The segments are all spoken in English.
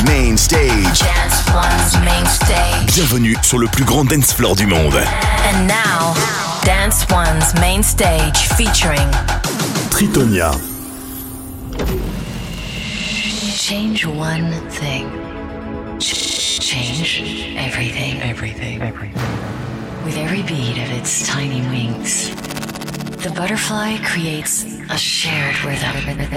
Main Stage. Dance One's Main Stage. Bienvenue sur le plus grand dance floor du monde. And now, Dance One's Main Stage featuring Tritonia. Change one thing. Change everything. Everything. With every beat of its tiny wings, the butterfly creates a shared rhythm,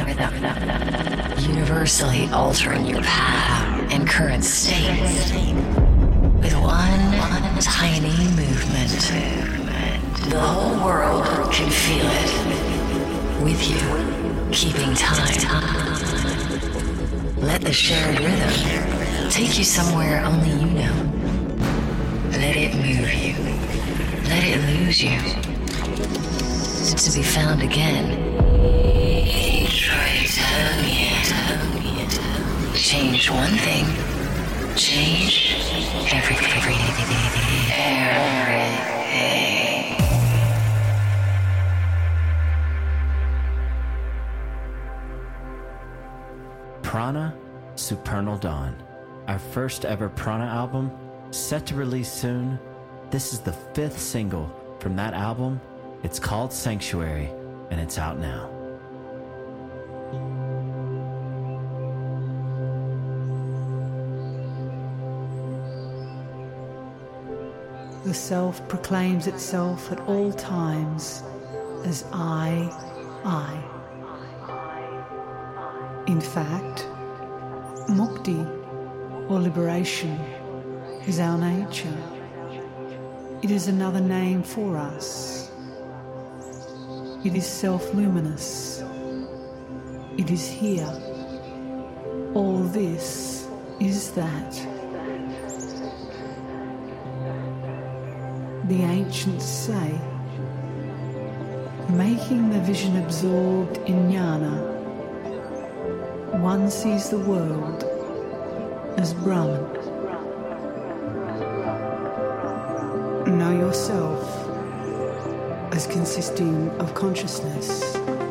universally altering your path and current state with one tiny movement. The whole world can feel it with you, keeping time. Let the shared rhythm take you somewhere only you know. Let it move you. Let it lose you. To be found again. Change one thing. Change everything. Prana Supernal Dawn, our first ever Prana album, set to release soon. This is the 5th single from that album. It's called Sanctuary, and it's out now. The self proclaims itself at all times as I. In fact, mukti, or liberation, is our nature. It is another name for us. It is self-luminous. It is here. All this is that. The ancients say, making the vision absorbed in jnana, one sees the world as Brahman. Know yourself as consisting of consciousness,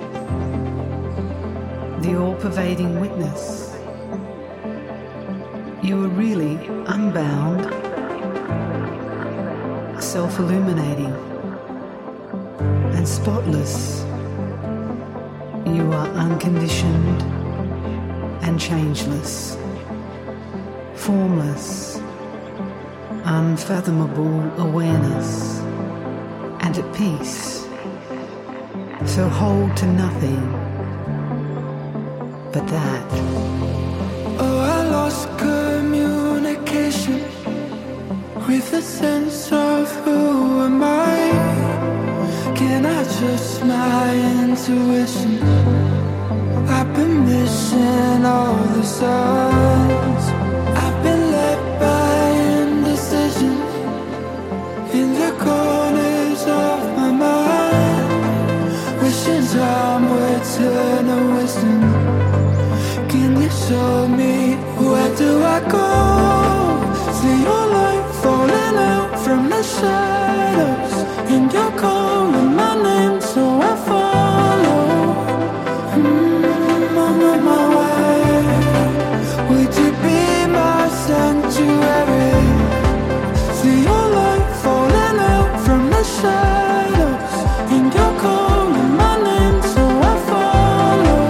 the all-pervading witness. You are really unbound, self-illuminating, and spotless. You are unconditioned and changeless, formless, unfathomable awareness, and at peace. So hold to nothing but that. Oh, I lost communication with the sense of who am I. Can I trust my intuition? I've been missing all the signs. I've been led by indecision in the corners of my mind, wishing time would turn to wisdom. Can you show me where do I go? See your light falling out from the shadows, and you're calling my name, so I follow. I'm on my way. Would you be my sanctuary? See your light falling out from the shadows, and you're calling my name, so I follow.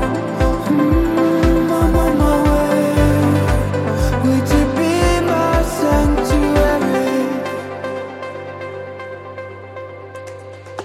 I'm on my way. Would you be my sanctuary?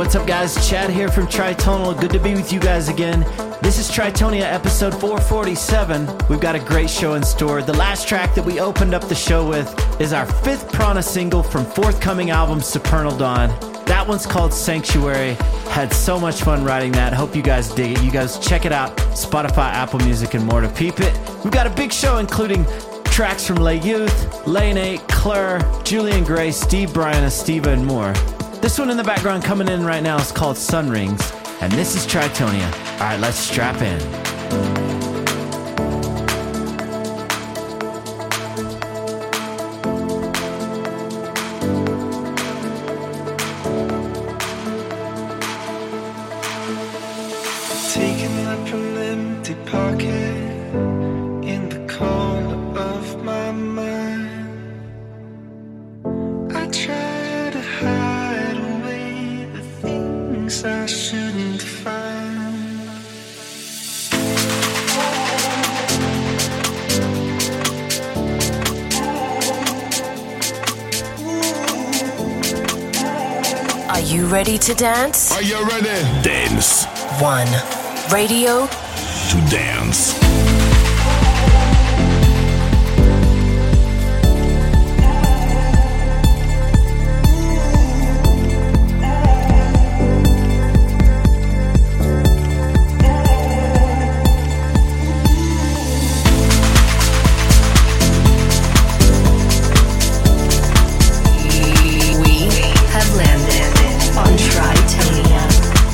what's up, guys? Chad here from Tritonal. Good to be with you guys again. This is Tritonia episode 447. We've got a great show in store. The last track that we opened up the show with is our 5th Prana single from forthcoming album Supernal Dawn. That one's called Sanctuary. Had so much fun writing that. Hope you guys dig it. You guys check it out. Spotify, Apple Music, and more to peep it. We've got a big show including tracks from Lay Youth, Lane 8, Claire, Julian Gray, Steve Bryan, Estiva, and more. This one in the background coming in right now is called Sun Rings, and this is Tritonia. All right, let's strap in. Taking up an empty pocket in the corner of my mind. I try to hide away the things I shouldn't find. Are you ready to dance? Are you ready? Dance. One. Radio. To dance. We have landed on Tritonia.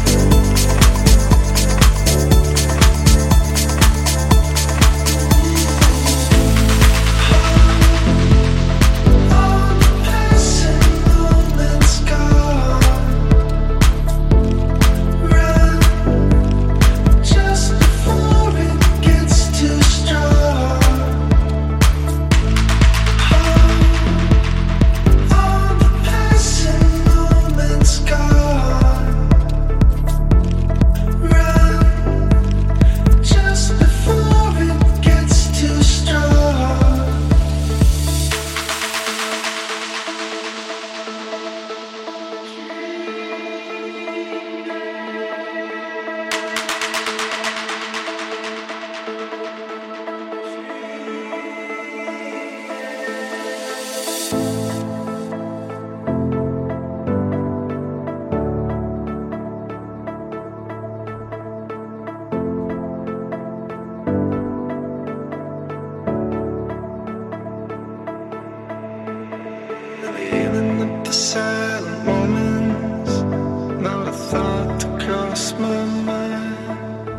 Feeling up the silent moments, not a thought to cross my mind.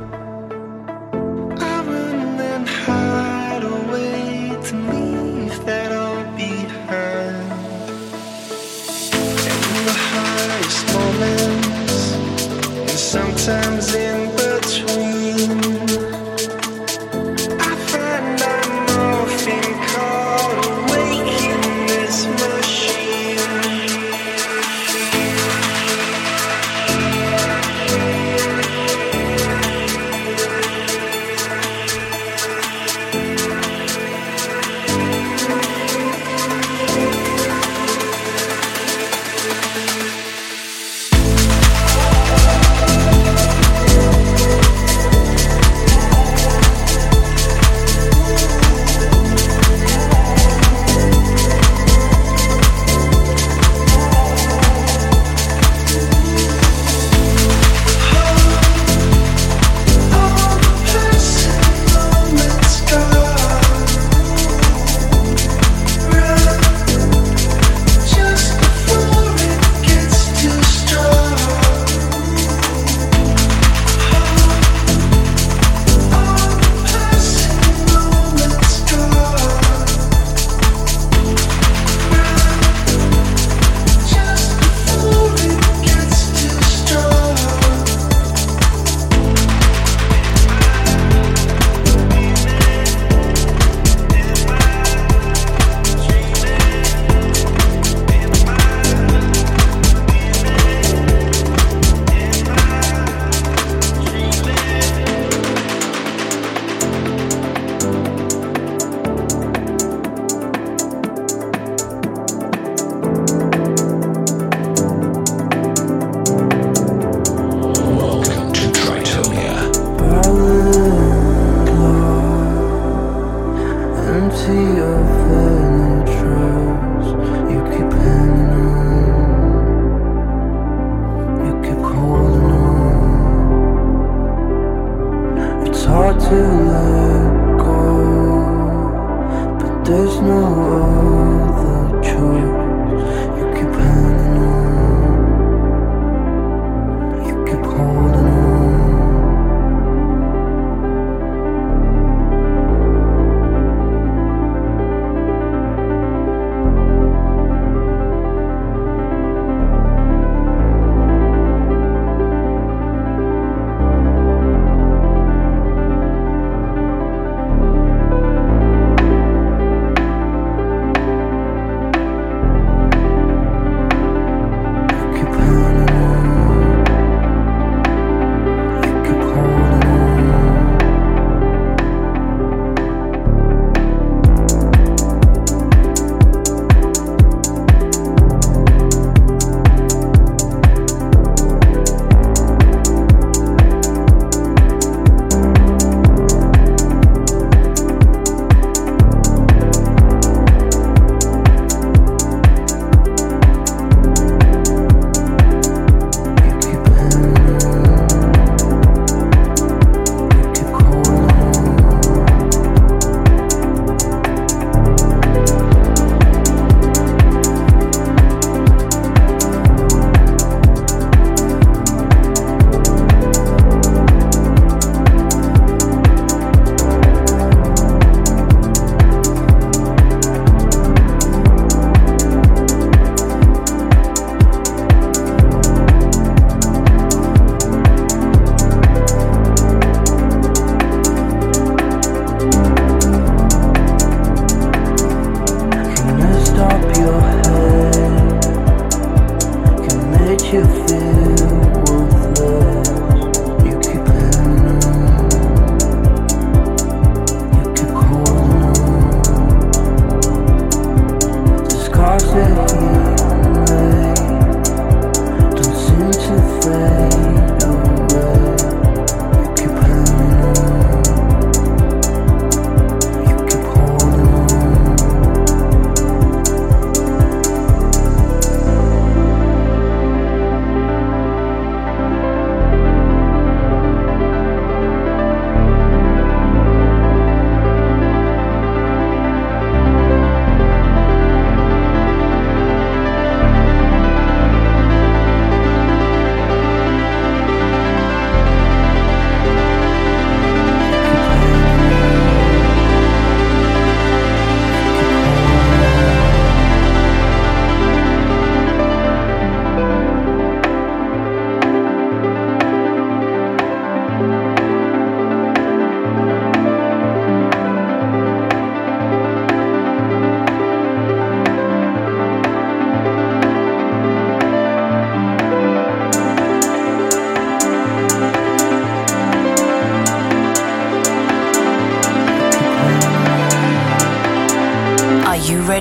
I run and hide away to leave that all behind. In the highest moments, and sometimes in between, I find I'm often caught awake in this machine.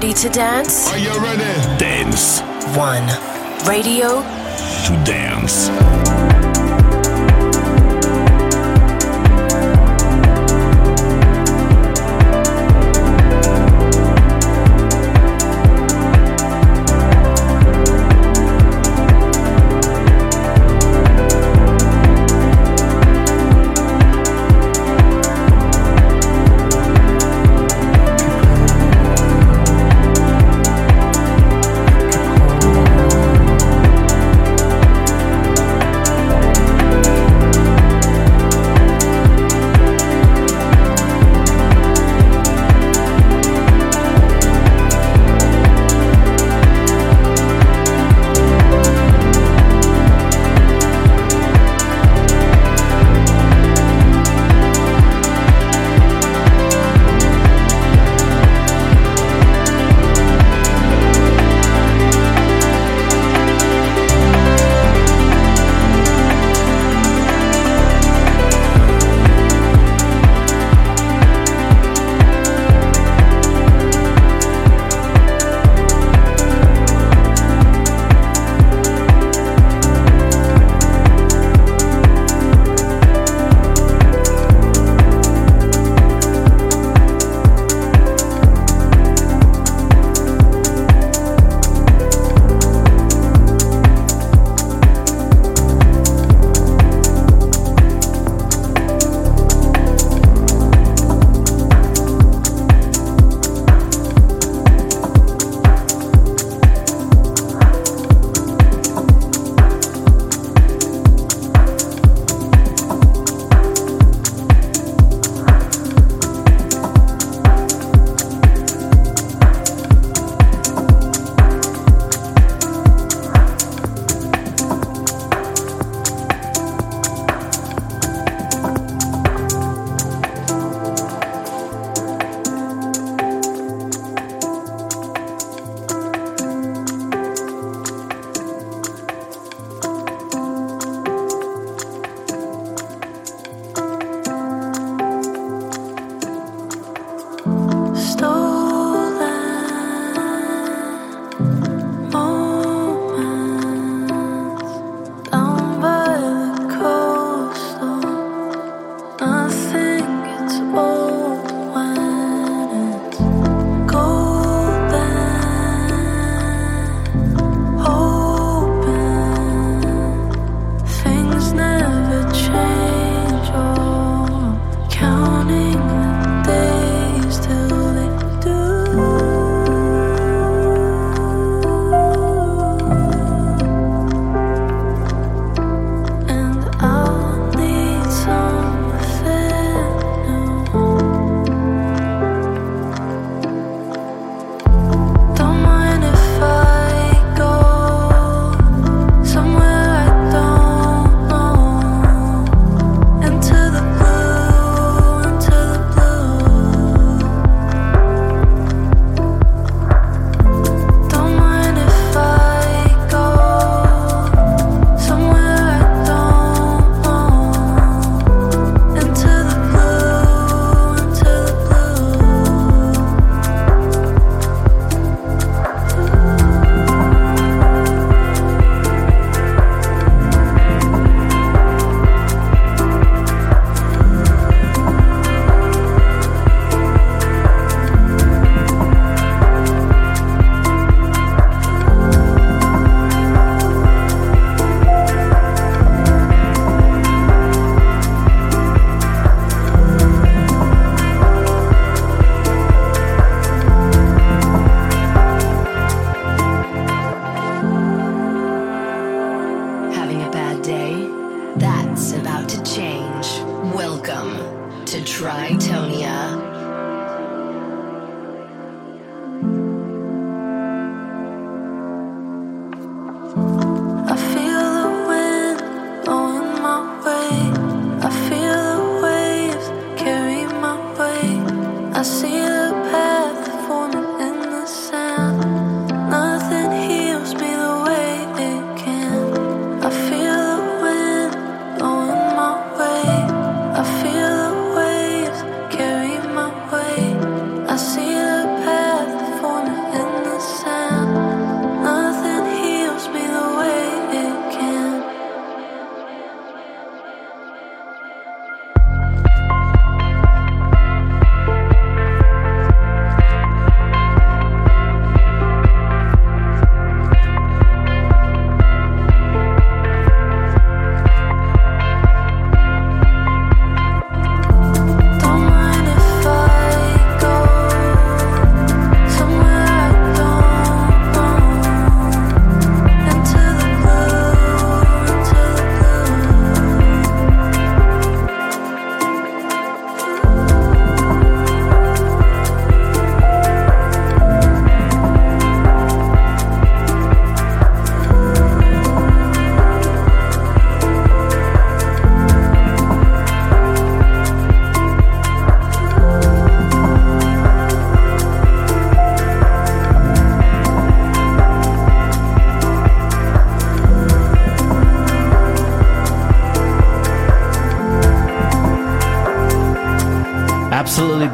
Ready to dance? Are you ready? Dance. One. Radio to dance.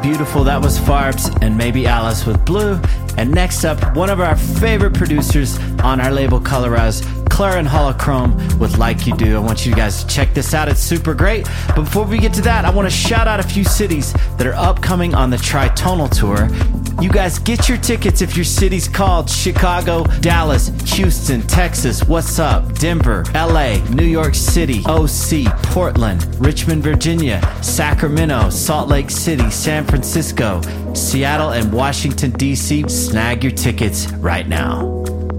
beautiful. That was Farbs and Maybe Alice with Blue. And next up, one of our favorite producers on our label Colorize, Clara and Holochrome with Like You Do. I want you guys to check this out. It's super great. But before we get to that, I want to shout out a few cities that are upcoming on the Tritonal Tour. You guys get your tickets if your city's called Chicago, Dallas, Houston, Texas, what's up, Denver, LA, New York City, OC, Portland, Richmond, Virginia, Sacramento, Salt Lake City, San Francisco, Seattle, and Washington, D.C. Snag your tickets right now.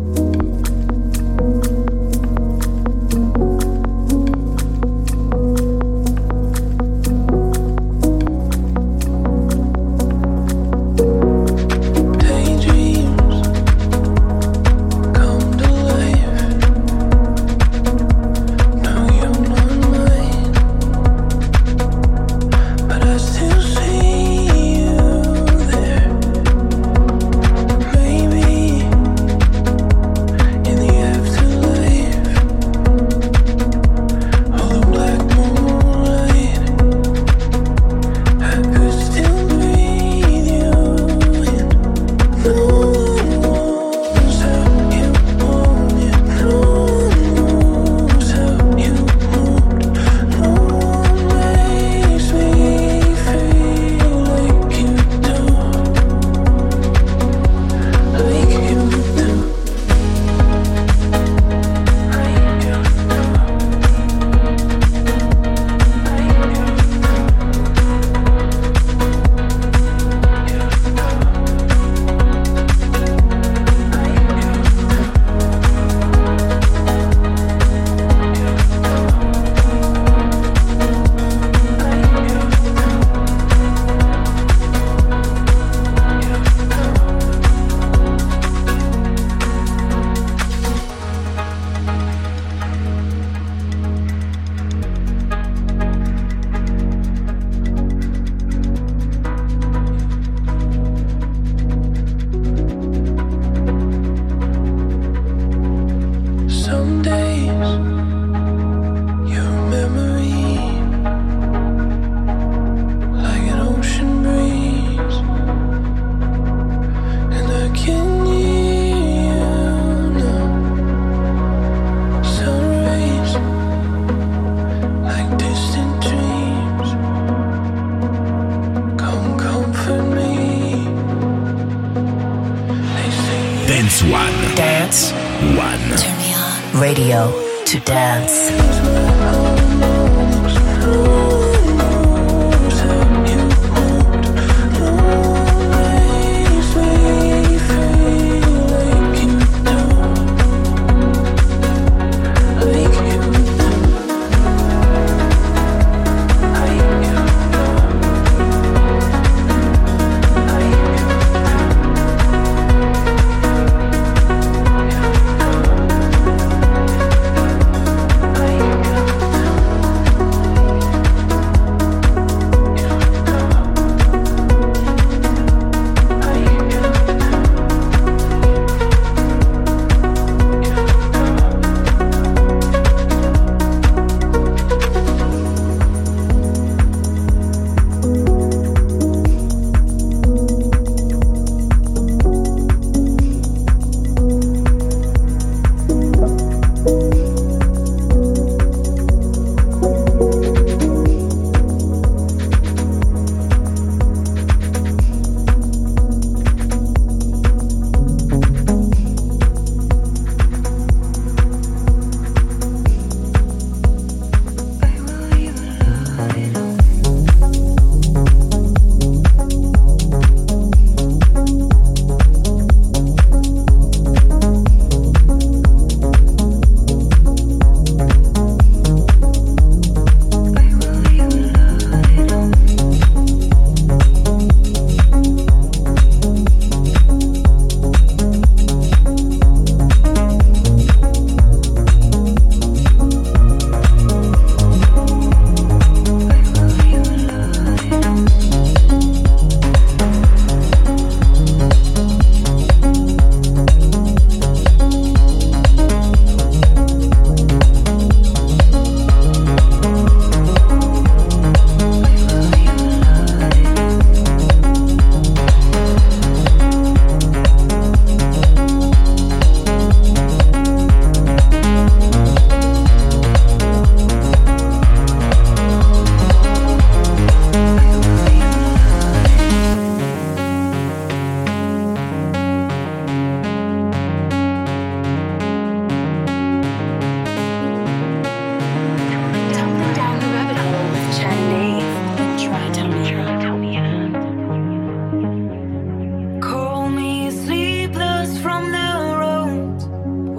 Dance One. Turn me on. Radio to dance.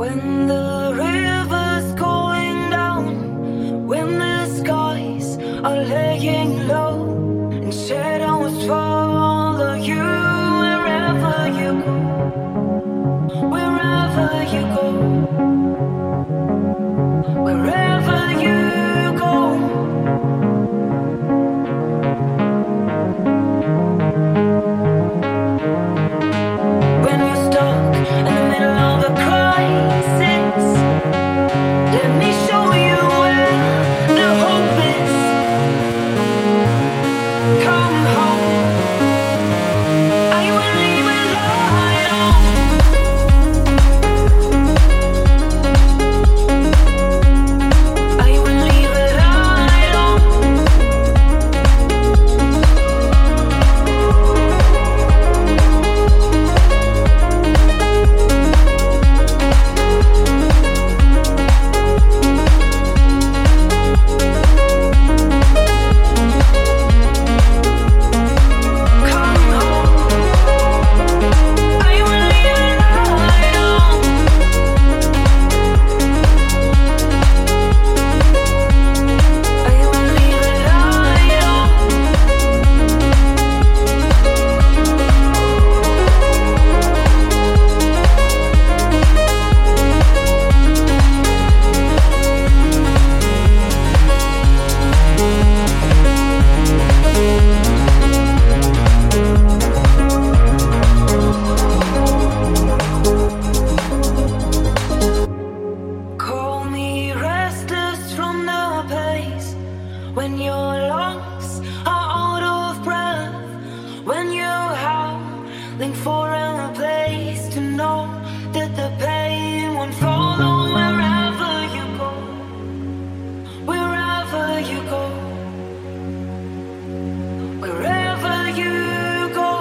When the river's going down, when the skies are laying low, and shadows follow you wherever you go, wherever you go, wherever you go. When you're stuck in the middle of a crisis, let me show you where the hope is. Come home, I will leave a light on. I will leave a light on. Call me restless from the pace, when your lungs are out of breath, when you're howling for a place to know that the pain won't follow wherever you go, wherever you go, wherever you go.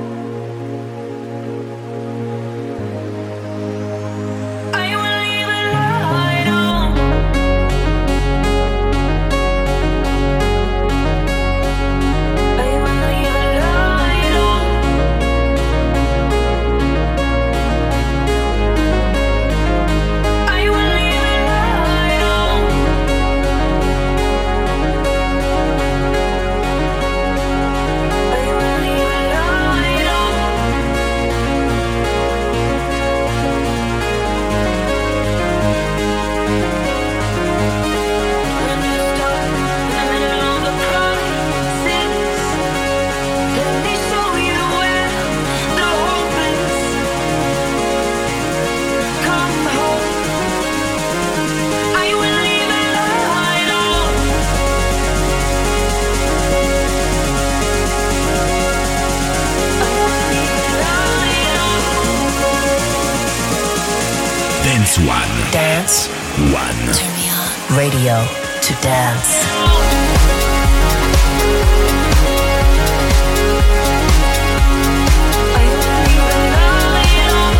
I will leave a light on. I will leave a light on. I will leave a light on. I will leave a light on. When you're stuck in the middle of a crisis, let me show you where the hope is. Come home, I will leave a light on. I will leave a light on. Dance One. Dance. One. Turn me on. Radio to dance. I will leave a light on.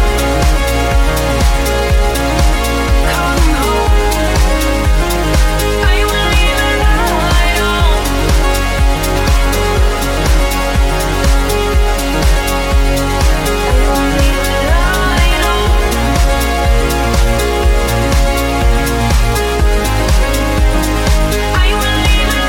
Come home, I will leave a light on. I will leave a light on. I will leave a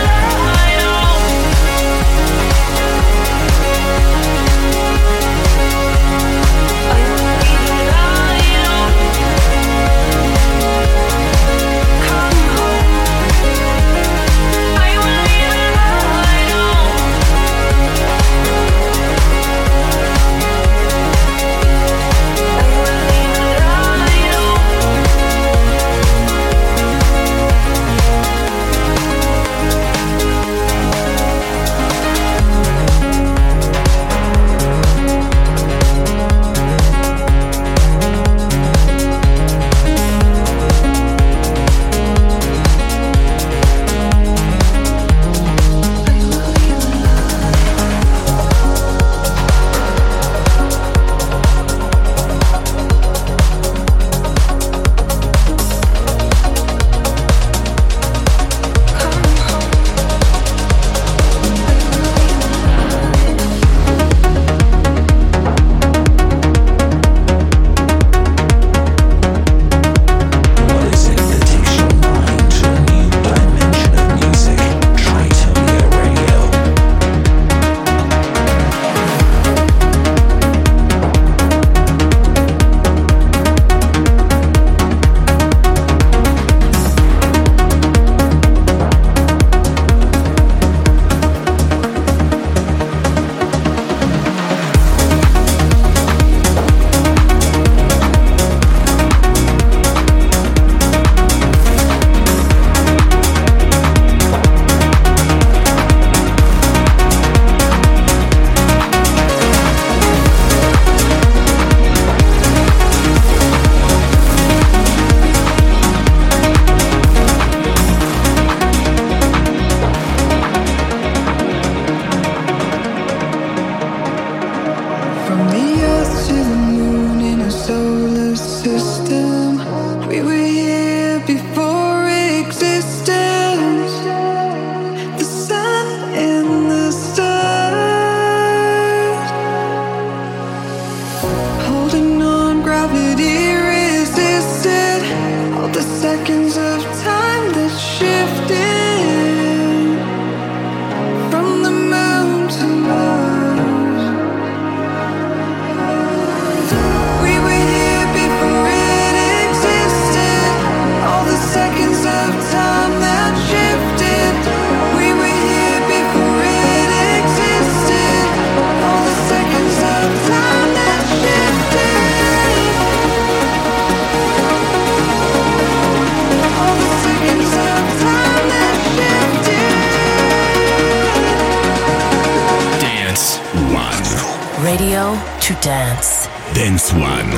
Radio to dance. Dance One.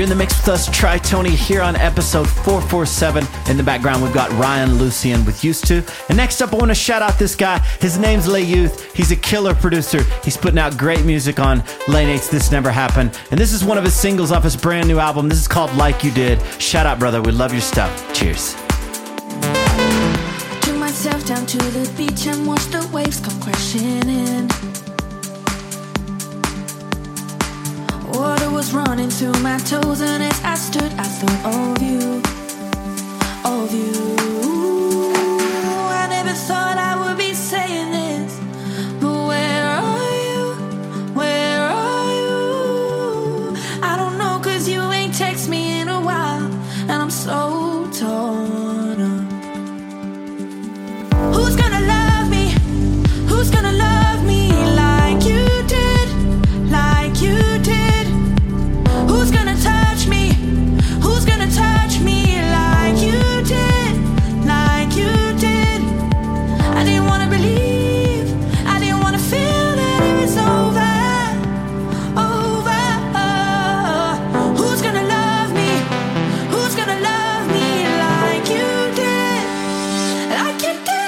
in the mix with us, Tri-Tony, here on episode 447. In the background, we've got Ryan Lucian with Used To. And next up, I want to shout out this guy. His name's Lay Youth. He's a killer producer. He's putting out great music on Lane 8's This Never Happened. And this is one of his singles off his brand new album. This is called Like You Did. Shout out, brother. We love your stuff. Cheers. I took myself down to the beach and watched the waves come crashing in. Water was running through my toes, and as I stood, I thought of you, of you. I never thought I would be saying this, but where are you? Where are you? I don't know, 'cause you ain't text me in a while, and I'm so torn up. Who's gonna love me? Who's gonna love me like you did? Like you did? Who's gonna touch me? Who's gonna touch me like you did? Like you did? I didn't wanna believe, I didn't wanna feel that it was over, over. Who's gonna love me? Who's gonna love me like you did? Like you did?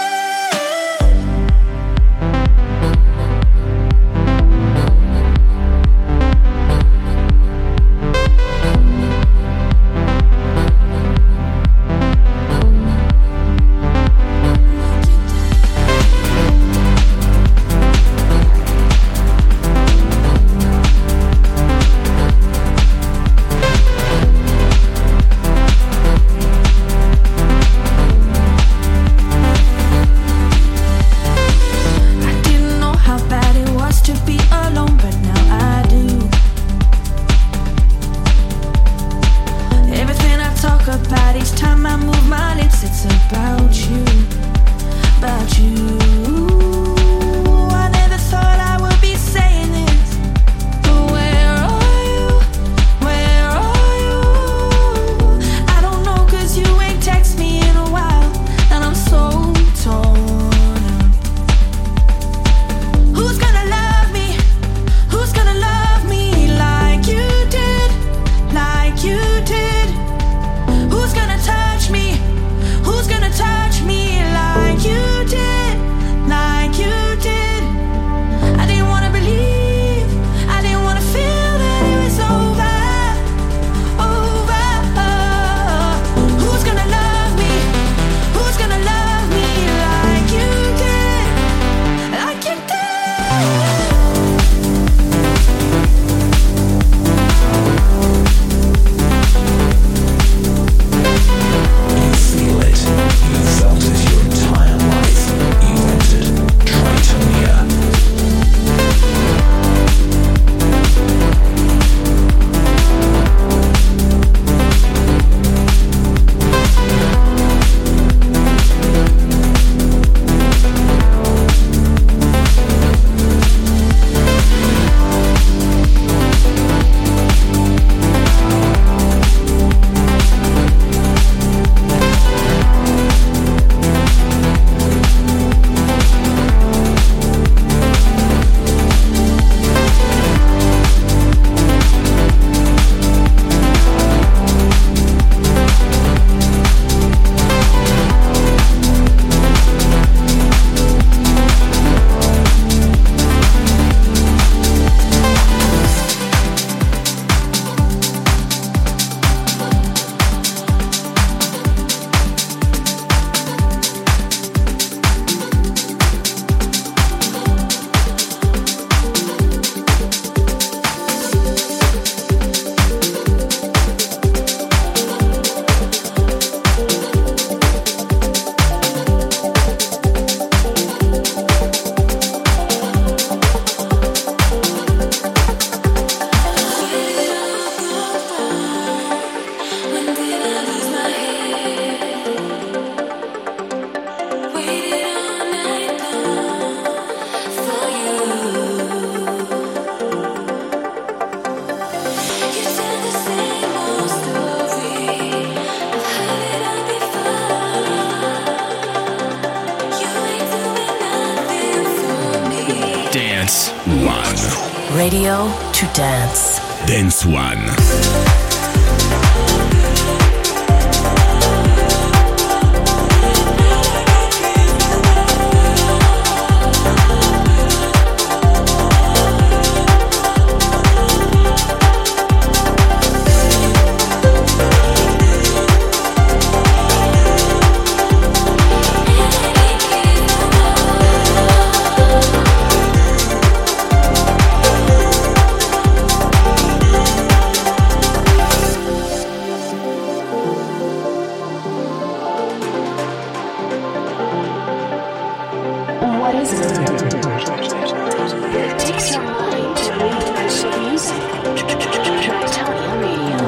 Dance One. Radio to Dance. Dance One. takes your mind to new kinds of music. Reptilian Radio.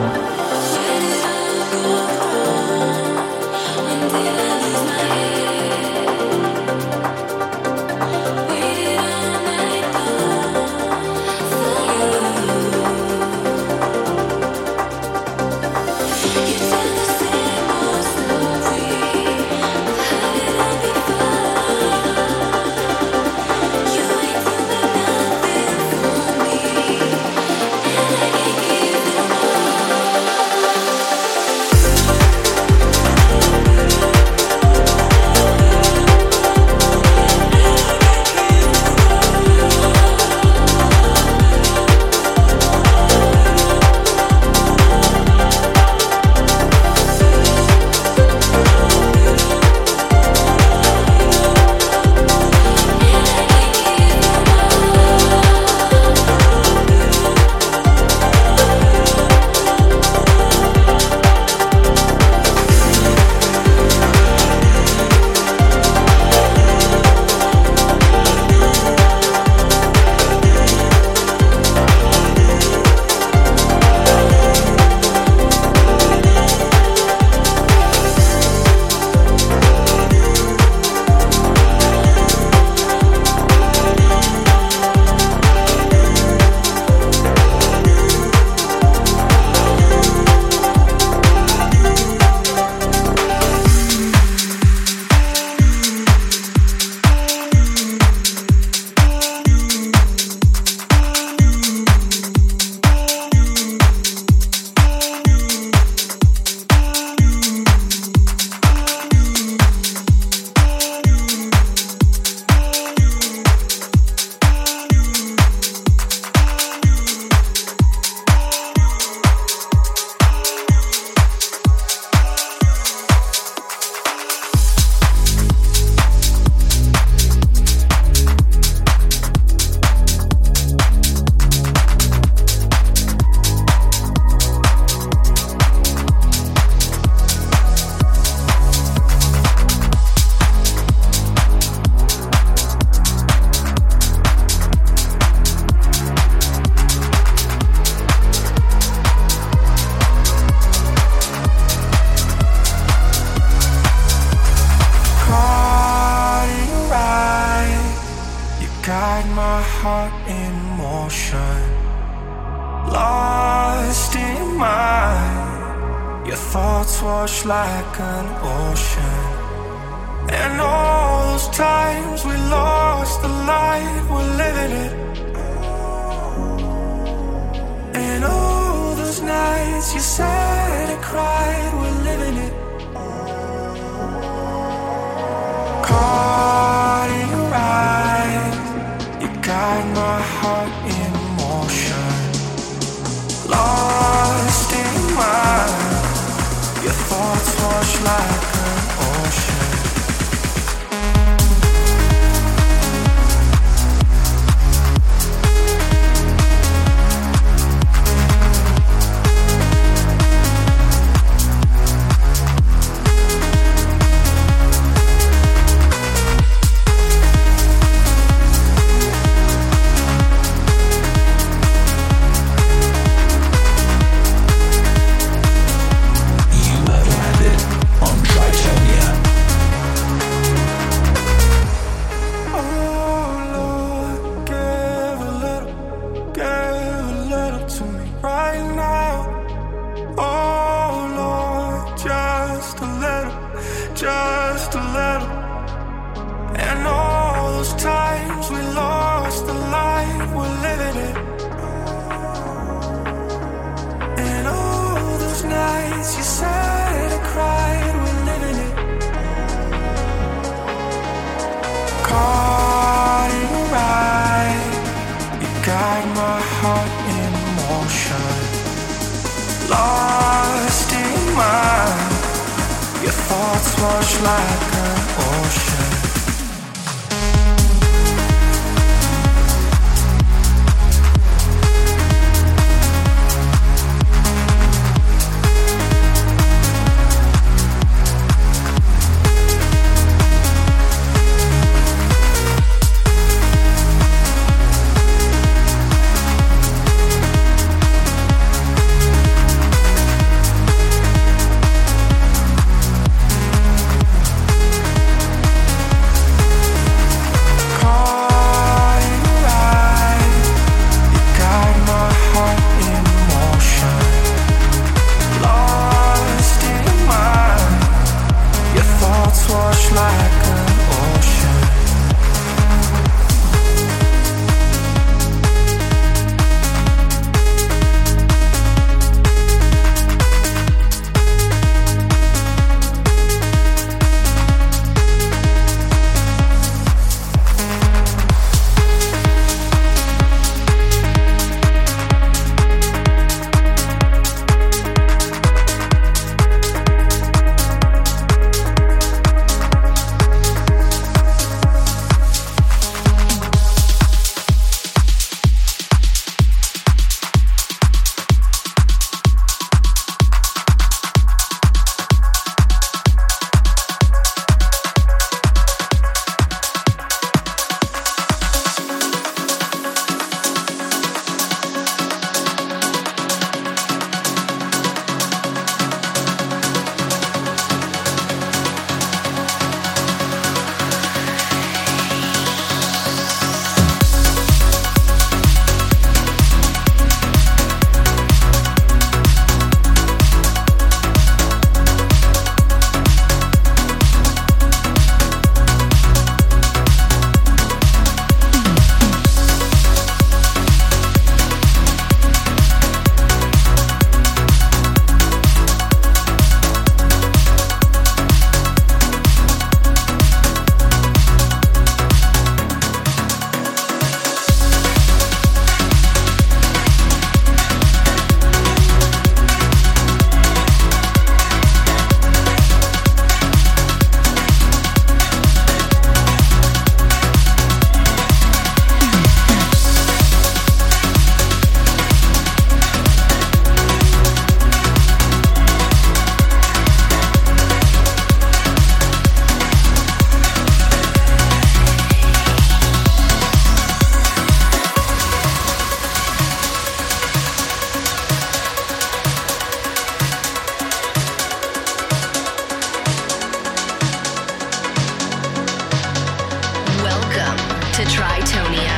to Tritonia.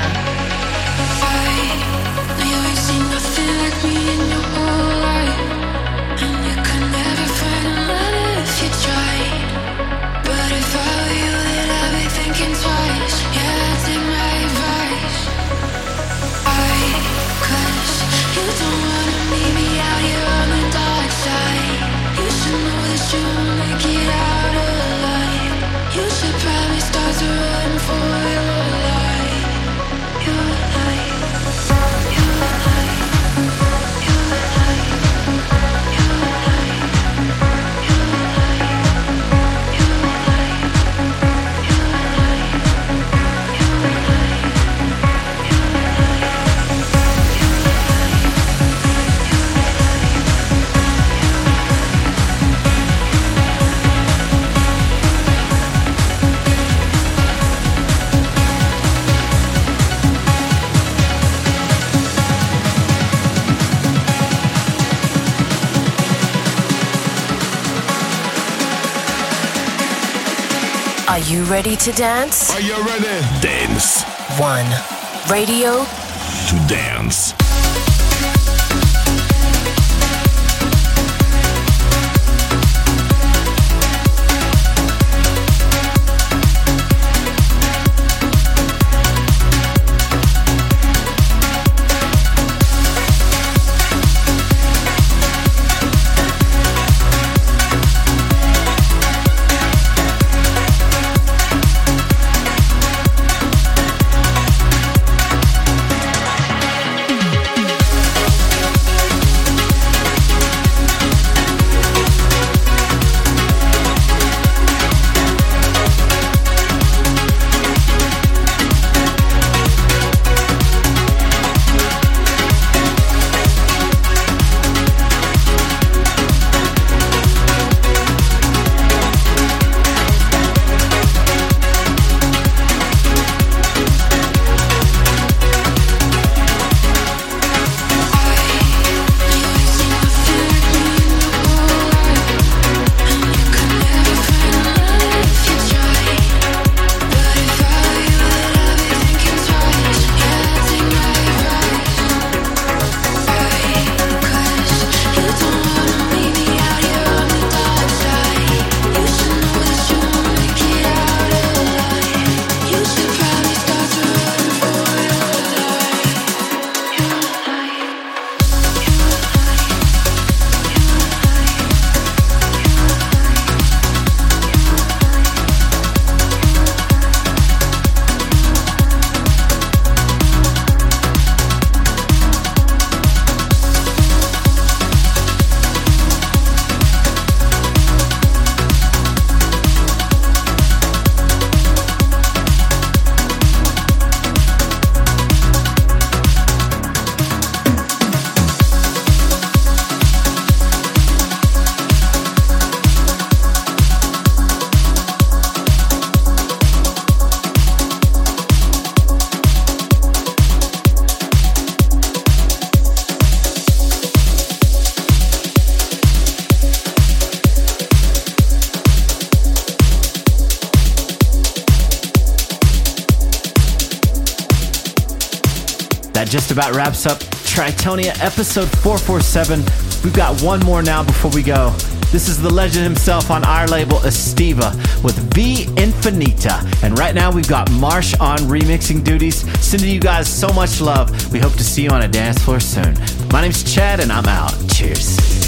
You ain't seen nothing like me in your whole life, and you could never find another if you tried. But if I were you, then I'd be thinking twice. Yeah, take my advice. Cause you don't wanna meet me out here on the dark side. You should know that you won't make it out alive. You should probably start to run for your life. Your life. Are you ready to dance? Are you ready? Dance. One. Radio to dance. That just about wraps up Tritonia episode 447. We've got one more now before we go. This is the legend himself on our label, Estiva, with V Infinita. And right now we've got Marsh on remixing duties. Sending you guys so much love. We hope to see you on a dance floor soon. My name's Chad and I'm out. Cheers.